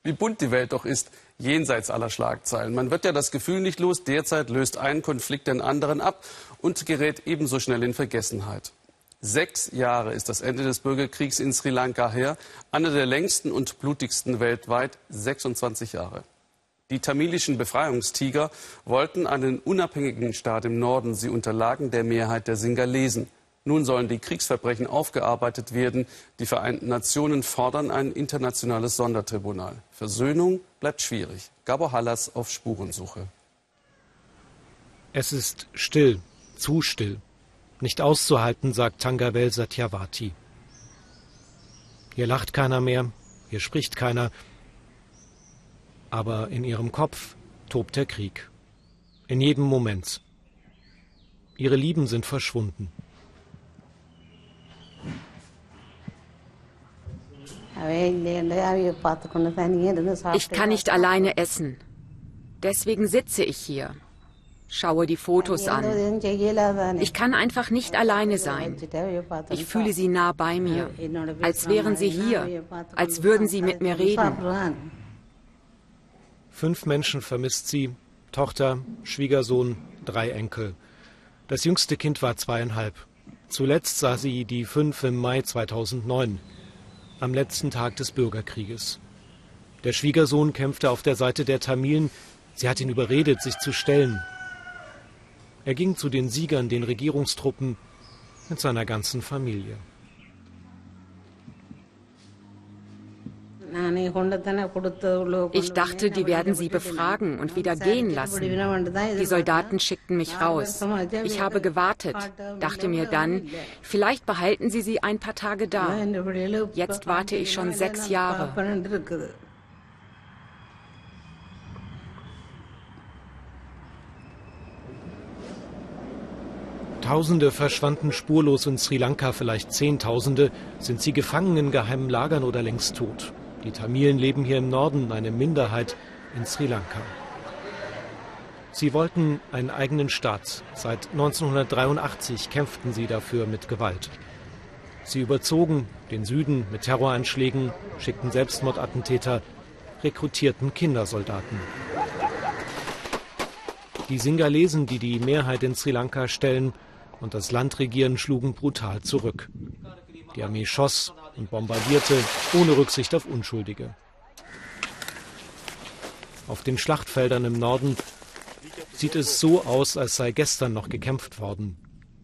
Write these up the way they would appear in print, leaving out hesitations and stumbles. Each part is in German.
Wie bunt die Welt doch ist, jenseits aller Schlagzeilen. Man wird ja das Gefühl nicht los, derzeit löst ein Konflikt den anderen ab und gerät ebenso schnell in Vergessenheit. 6 Jahre ist das Ende des Bürgerkriegs in Sri Lanka her, einer der längsten und blutigsten weltweit, 26 Jahre. Die tamilischen Befreiungstiger wollten einen unabhängigen Staat im Norden. Sie unterlagen der Mehrheit der Singalesen. Nun sollen die Kriegsverbrechen aufgearbeitet werden. Die Vereinten Nationen fordern ein internationales Sondertribunal. Versöhnung bleibt schwierig. Gabor Hallas auf Spurensuche. Es ist still, zu still. Nicht auszuhalten, sagt Thangavel Satyavati. Hier lacht keiner mehr, hier spricht keiner. Aber in ihrem Kopf tobt der Krieg. In jedem Moment. Ihre Lieben sind verschwunden. Ich kann nicht alleine essen. Deswegen sitze ich hier. Schaue die Fotos an. Ich kann einfach nicht alleine sein. Ich fühle sie nah bei mir, als wären sie hier, als würden sie mit mir reden. 5 Menschen vermisst sie, Tochter, Schwiegersohn, 3 Enkel. Das jüngste Kind war 2,5. Zuletzt sah sie die 5 im Mai 2009, am letzten Tag des Bürgerkrieges. Der Schwiegersohn kämpfte auf der Seite der Tamilen. Sie hat ihn überredet, sich zu stellen. Er ging zu den Siegern, den Regierungstruppen, mit seiner ganzen Familie. Ich dachte, die werden sie befragen und wieder gehen lassen. Die Soldaten schickten mich raus. Ich habe gewartet, dachte mir dann, vielleicht behalten sie ein paar Tage da. Jetzt warte ich schon 6 Jahre. Tausende verschwanden spurlos in Sri Lanka, vielleicht Zehntausende. Sind sie gefangen in geheimen Lagern oder längst tot? Die Tamilen leben hier im Norden, eine Minderheit in Sri Lanka. Sie wollten einen eigenen Staat. Seit 1983 kämpften sie dafür mit Gewalt. Sie überzogen den Süden mit Terroranschlägen, schickten Selbstmordattentäter, rekrutierten Kindersoldaten. Die Singalesen, die die Mehrheit in Sri Lanka stellen und das Land regieren, schlugen brutal zurück. Die Armee schoss und bombardierte, ohne Rücksicht auf Unschuldige. Auf den Schlachtfeldern im Norden sieht es so aus, als sei gestern noch gekämpft worden.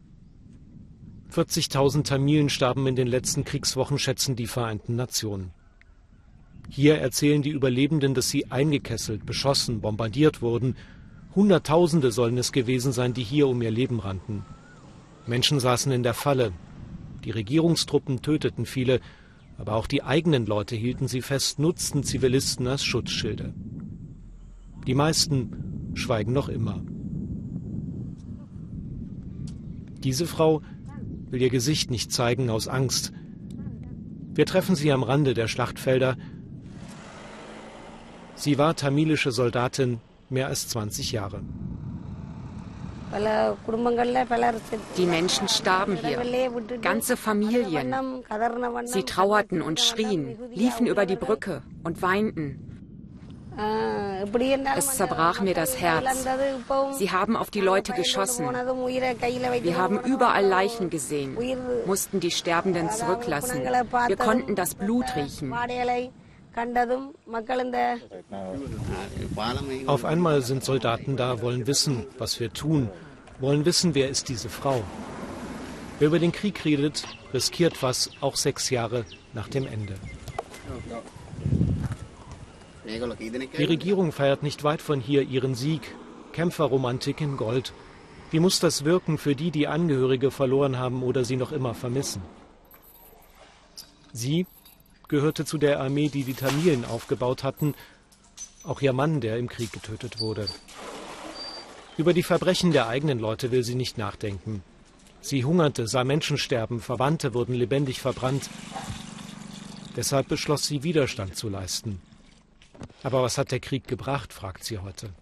40.000 Tamilen starben in den letzten Kriegswochen, schätzen die Vereinten Nationen. Hier erzählen die Überlebenden, dass sie eingekesselt, beschossen, bombardiert wurden. Hunderttausende sollen es gewesen sein, die hier um ihr Leben rannten. Menschen saßen in der Falle. Die Regierungstruppen töteten viele, aber auch die eigenen Leute hielten sie fest, nutzten Zivilisten als Schutzschilde. Die meisten schweigen noch immer. Diese Frau will ihr Gesicht nicht zeigen aus Angst. Wir treffen sie am Rande der Schlachtfelder. Sie war tamilische Soldatin mehr als 20 Jahre. Die Menschen starben hier, ganze Familien. Sie trauerten und schrien, liefen über die Brücke und weinten. Es zerbrach mir das Herz. Sie haben auf die Leute geschossen. Wir haben überall Leichen gesehen, mussten die Sterbenden zurücklassen. Wir konnten das Blut riechen. Auf einmal sind Soldaten da, wollen wissen, was wir tun, wollen wissen, wer ist diese Frau. Wer über den Krieg redet, riskiert was, auch 6 Jahre nach dem Ende. Die Regierung feiert nicht weit von hier ihren Sieg. Kämpferromantik in Gold. Wie muss das wirken für die, die Angehörige verloren haben oder sie noch immer vermissen? Sie gehörte zu der Armee, die die Tamilen aufgebaut hatten. Auch ihr Mann, der im Krieg getötet wurde. Über die Verbrechen der eigenen Leute will sie nicht nachdenken. Sie hungerte, sah Menschen sterben, Verwandte wurden lebendig verbrannt. Deshalb beschloss sie, Widerstand zu leisten. Aber was hat der Krieg gebracht, fragt sie heute.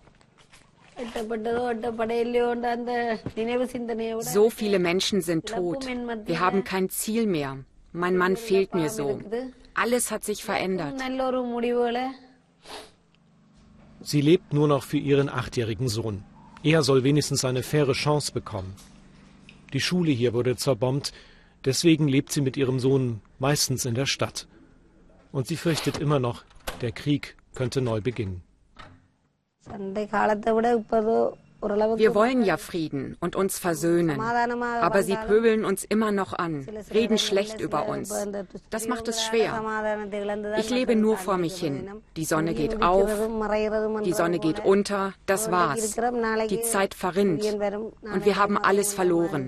So viele Menschen sind tot. Wir haben kein Ziel mehr. Mein Mann fehlt mir so. Alles hat sich verändert. Sie lebt nur noch für ihren 8-jährigen Sohn. Er soll wenigstens eine faire Chance bekommen. Die Schule hier wurde zerbombt, deswegen lebt sie mit ihrem Sohn meistens in der Stadt. Und sie fürchtet immer noch, der Krieg könnte neu beginnen. Wir wollen ja Frieden und uns versöhnen. Aber sie pöbeln uns immer noch an, reden schlecht über uns. Das macht es schwer. Ich lebe nur vor mich hin. Die Sonne geht auf, die Sonne geht unter, das war's. Die Zeit verrinnt und wir haben alles verloren.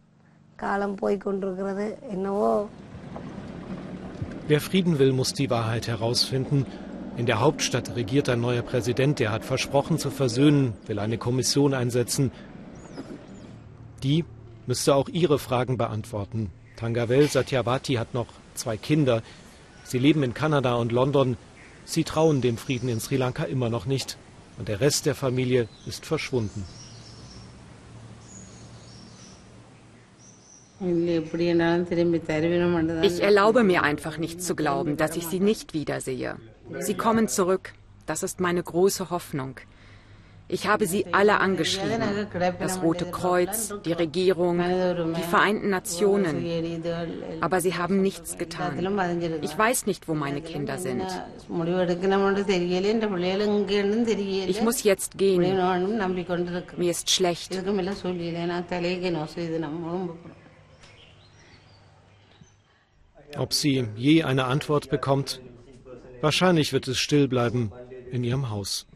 Wer Frieden will, muss die Wahrheit herausfinden. In der Hauptstadt regiert ein neuer Präsident, der hat versprochen zu versöhnen, will eine Kommission einsetzen. Die müsste auch ihre Fragen beantworten. Thangavel Satyavati hat noch 2 Kinder. Sie leben in Kanada und London. Sie trauen dem Frieden in Sri Lanka immer noch nicht. Und der Rest der Familie ist verschwunden. Ich erlaube mir einfach nicht zu glauben, dass ich sie nicht wiedersehe. Sie kommen zurück. Das ist meine große Hoffnung. Ich habe sie alle angeschrieben. Das Rote Kreuz, die Regierung, die Vereinten Nationen. Aber sie haben nichts getan. Ich weiß nicht, wo meine Kinder sind. Ich muss jetzt gehen. Mir ist schlecht. Ob sie je eine Antwort bekommt? Wahrscheinlich wird es still bleiben in ihrem Haus.